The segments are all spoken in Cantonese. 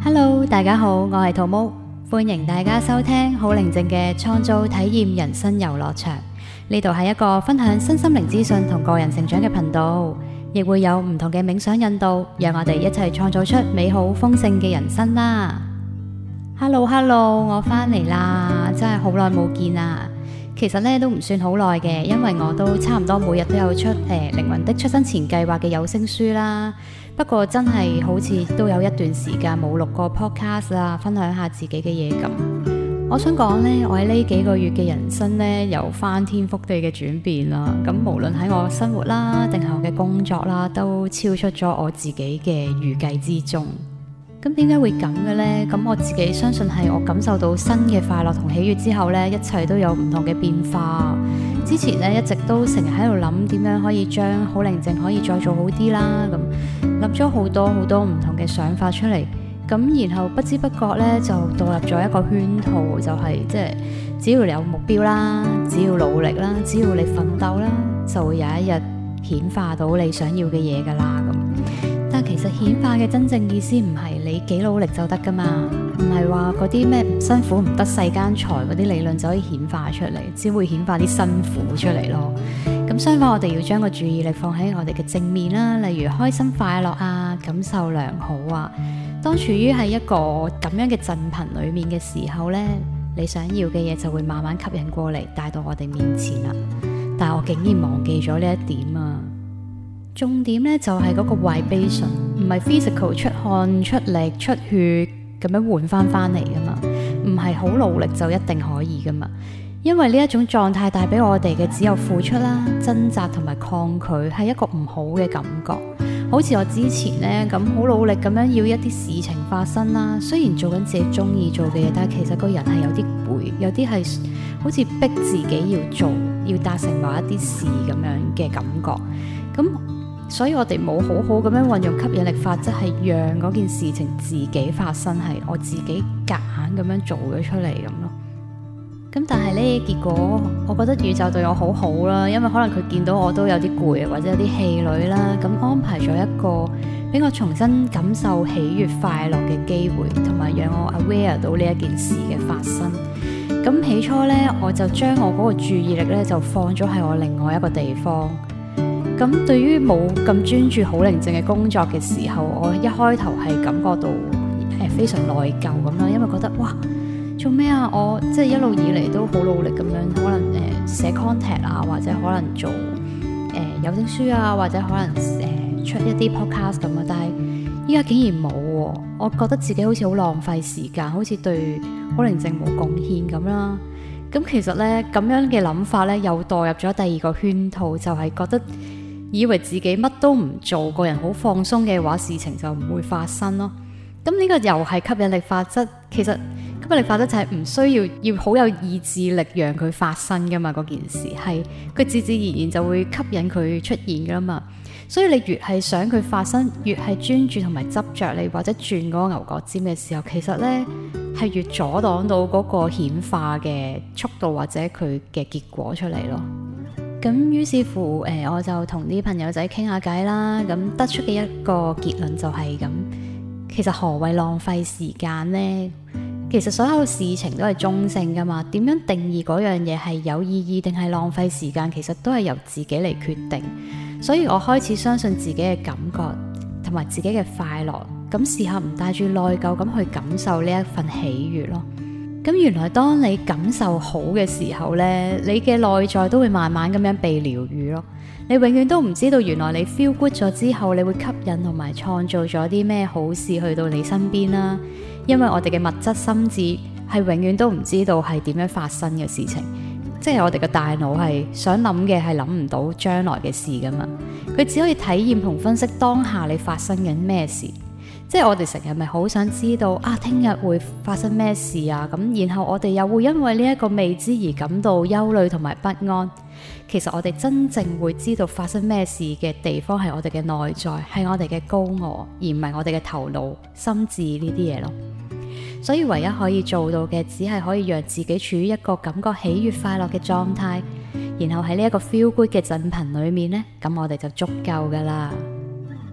Hello， 大家好，我係兔毛，歡迎大家收聽好寧靜嘅創造體驗人生遊樂場。呢度係一個分享身心靈資訊同個人成長嘅頻道，亦會有唔同嘅冥想引導，讓我哋一齊創造出美好豐盛嘅人生啦。Hello， 我翻嚟啦，真係好耐冇見啦。其實咧都唔算好耐嘅，因為我都差唔多每日都有出靈魂的出生前計劃嘅有聲書啦。不過真係好似都有一段時間冇錄過 podcast 啦，分享下自己嘅嘢咁。我想講呢，我喺呢幾個月嘅人生呢，有翻天覆地嘅轉變啦。咁無論喺我生活啦，定係我嘅工作啦，都超出咗我自己嘅預計之中。咁點解會咁嘅呢？咁我自己相信係我感受到新嘅快樂同喜悅之後呢，一切都有唔同嘅變化。之前呢，一直都成日喺度諗點樣可以將好寧靜可以再做好啲啦。咁諗咗好多唔同嘅想法出嚟。咁然後不知不覺呢，就墮入咗一個圈套，就係即係只要你有目標啦，只要努力啦，只要你奮鬥啦，就會有一日顯化到你想要嘅嘢噶啦。咁但其實顯化嘅真正意思唔係你幾努力就得噶嘛，唔係話嗰啲咩唔辛苦唔得世間財嗰啲理論就可以顯化出嚟，只會顯化啲辛苦出嚟咯。咁相反，我哋要將個注意力放喺我哋嘅正面啦，例如開心快樂啊，感受良好啊。當處於喺一個咁樣嘅振頻裏面嘅時候呢，你想要嘅嘢就會慢慢吸引過嚟，帶到我哋面前啦。但係我竟然忘記咗呢一點啊！重點呢就係嗰個 vibration， 唔係 physical 出汗出力出血咁樣換翻嚟噶嘛，唔係好努力就一定可以噶嘛。因為呢一種狀態帶俾我哋嘅只有付出啦、掙扎同埋抗拒，係一個唔好嘅感覺。好似我之前呢咁好努力咁樣要一啲事情發生啦，雖然做緊自己中意做嘅嘢，但係其實個人係有啲攰，有啲係好似逼自己要做，要達成某一啲事咁樣嘅感覺。咁所以我哋冇好好咁樣運用吸引力法則，係讓嗰件事情自己發生，係我自己夾硬咁樣做咗出嚟咁咯。咁但係呢，結果我覺得宇宙對我好好啦，因為可能佢見到我都有啲攰或者有啲氣餒啦，咁安排咗一個俾我重新感受喜悅快樂嘅機會，同埋讓我 aware 到呢一件事嘅發生。咁起初呢，我就將我嗰個注意力呢，就放咗喺我另外一個地方。咁對於冇咁專注好寧靜嘅工作嘅時候，我一開頭係感覺到非常內疚咁啦，因為覺得哇，做咩啊？我即係一路以嚟都好努力咁樣，可能寫 content 啊，或者可能做有聲書啊，或者可能出一啲 podcast 咁啊。但係依家竟然冇喎，我覺得自己好似好浪費時間，好似對好寧靜冇貢獻咁啦。咁其實呢，咁樣嘅諗法呢，又墮入咗第二個圈套，就係覺得以為自己乜都唔做，個人好放鬆嘅話，事情就唔會發生咯。咁呢個又係吸引力法則。其實吸引力法則就係唔需要好有意志力讓佢發生噶嘛，嗰件事係佢自自然然就會吸引佢出現噶啦嘛。所以你越係想佢發生，越係專注同埋執着你或者轉嗰個牛角尖嘅時候，其實呢係越阻擋到嗰個顯化嘅速度或者佢嘅結果出嚟咯。咁於是乎我就同啲朋友仔傾下偈啦，咁得出嘅一個結論就係咁。其實何謂浪費時間呢？其實所有事情都係中性噶嘛，點樣定義嗰樣嘢係有意義定係浪費時間，其實都係由自己嚟決定。所以我開始相信自己嘅感覺同埋自己嘅快樂，咁試下唔帶住內疚咁去感受呢一份喜悅咯。咁原來當你感受好嘅時候呢，你嘅內在都會慢慢咁樣被療癒咯。你永遠都唔知道，原來你 feel good 咗之後，你會吸引同埋創造咗啲咩好事去到你身邊啦。因為我哋嘅物質心智係永遠都唔知道係點樣發生嘅事情，即係我哋嘅大腦係想諗嘅係諗唔到將來嘅事噶嘛，佢只可以體驗同分析當下你發生緊咩事。即係我哋成日咪好想知道啊，聽日會發生咩事啊？咁然後我哋又會因為呢一個未知而感到憂慮同埋不安。其實我哋真正會知道發生咩事嘅地方係我哋嘅內在，係我哋嘅高我，而唔係我哋嘅頭腦、心智呢啲嘢咯。所以唯一可以做到嘅，只係可以讓自己處於一個感覺喜悅快樂嘅狀態，然後喺呢一個 feel good 嘅振頻裏面呢，咁我哋就足夠噶啦。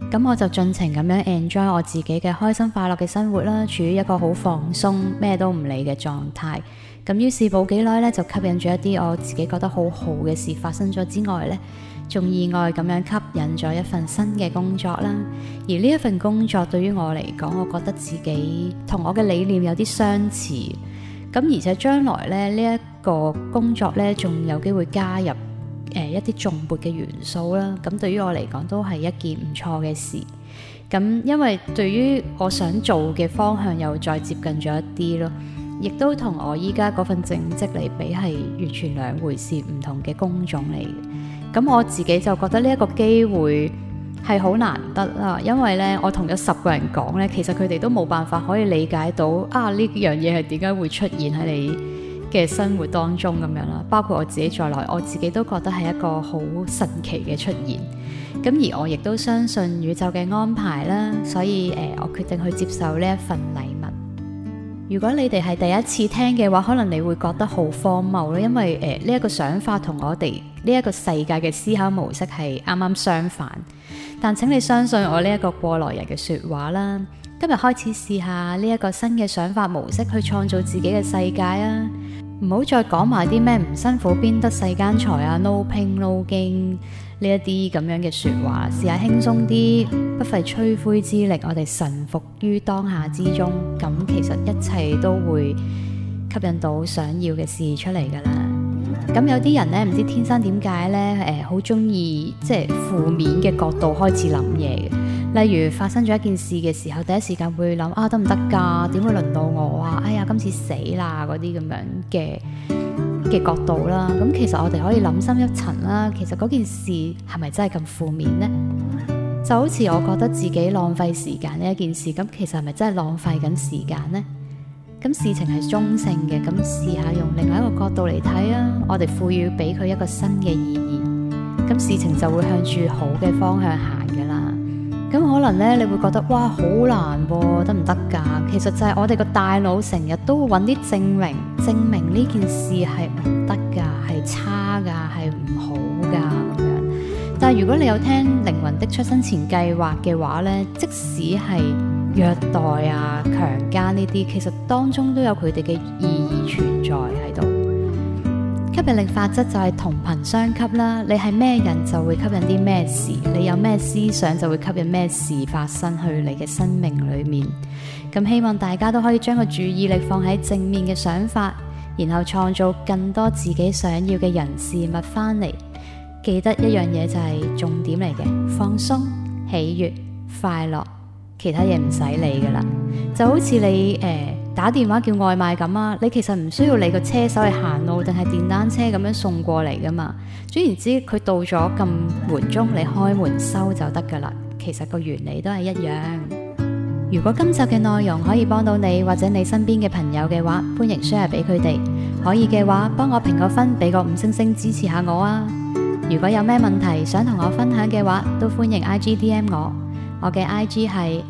咁我就盡情咁樣 enjoy 我自己嘅開心快樂嘅生活啦，處於一個好放鬆咩都唔理嘅狀態。咁於是冇幾耐咧，就吸引咗一啲我自己覺得好好嘅事發生咗之外咧，仲意外咁樣吸引咗一份新嘅工作啦。而呢一份工作對於我嚟講，我覺得自己同我嘅理念有啲相似。咁而且將來咧，呢一個工作咧，仲有機會加入一啲頌缽嘅元素啦。咁對於我嚟講都係一件唔錯嘅事。咁因為對於我想做嘅方向又再接近咗一啲咯。亦都同我依家嗰份正職嚟比係完全兩回事，唔同嘅工種嚟嘅。咁我自己就覺得呢一個機會係好難得啦，因為咧我同咗10個人講咧，其實佢哋都冇辦法可以理解到呢樣嘢係點解會出現喺你嘅生活當中咁樣啦。包括我自己在內，我自己都覺得係一個好神奇嘅出現。咁而我亦都相信宇宙嘅安排啦，所以我決定去接受呢一份禮物。如果你哋係第一次聽嘅話，可能你會覺得好荒謬咯，因為呢一個想法同我哋呢一個世界嘅思考模式係啱啱相反。但請你相信我呢一個過來人嘅說話啦，今日開始試下呢一個新嘅想法模式去創造自己嘅世界啊！唔好再講埋啲咩唔辛苦邊得世間財啊 ，no pain no gain 呢一啲咁樣嘅說話，試下輕鬆啲，不費吹灰之力，我哋臣服於當下之中，咁其實一切都會吸引到想要嘅事出嚟噶啦。咁有啲人呢，唔知天生點解呢，好中意即係負面嘅角度開始諗嘢嘅。例如發生咗一件事嘅時候，第一時間會諗得唔得㗎？點會輪到我啊？哎呀，今次死啦！嗰啲咁樣嘅角度啦。咁其實我哋可以諗深一層啦。其實嗰件事係咪真係咁負面呢？就好似我覺得自己浪費時間呢一件事，咁其實係咪真係浪費緊時間呢？咁事情係中性嘅，咁試下用另外一個角度嚟睇啊！我哋賦予俾佢一個新嘅意義，咁事情就會向住好嘅方向行噶啦。咁可能咧，你會覺得哇，好難喎，得唔得㗎？其實就係我哋個大腦成日都會揾啲證明呢件事係唔得㗎，係差㗎，係唔好㗎咁樣。但係如果你有聽靈魂的出生前計劃嘅話咧，即使係虐待啊、強姦呢啲，其實當中都有佢哋嘅意義存在喺度。吸引力法則就係同頻相吸啦，你係咩人就會吸引啲咩事，你有咩思想就會吸引咩事發生去你嘅生命裏面。咁希望大家都可以將個注意力放喺正面嘅想法，然後創造更多自己想要嘅人事物翻嚟。記得一樣嘢就係重點嚟嘅，放鬆、喜悅、快樂，其他嘢唔使理噶啦。就好似你打電話叫外賣咁啊，你其實唔需要你個車手去行路定係電單車咁樣送過嚟噶嘛。總言之，佢到咗咁門鐘，你開門收就得噶啦。其實個原理都係一樣。如果今集嘅內容可以幫到你或者你身邊嘅朋友嘅話，歡迎 share 俾佢哋。可以嘅話，幫我評個分，俾個5星星支持下我啊！如果有咩問題想同我分享嘅話，都歡迎 IG DM 我。我嘅 IG 係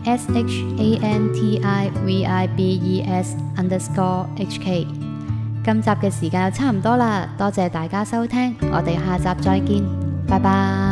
SHANTIVIBES_HK。今集嘅時間就差唔多啦，多謝大家收聽，我哋下集再見，拜拜。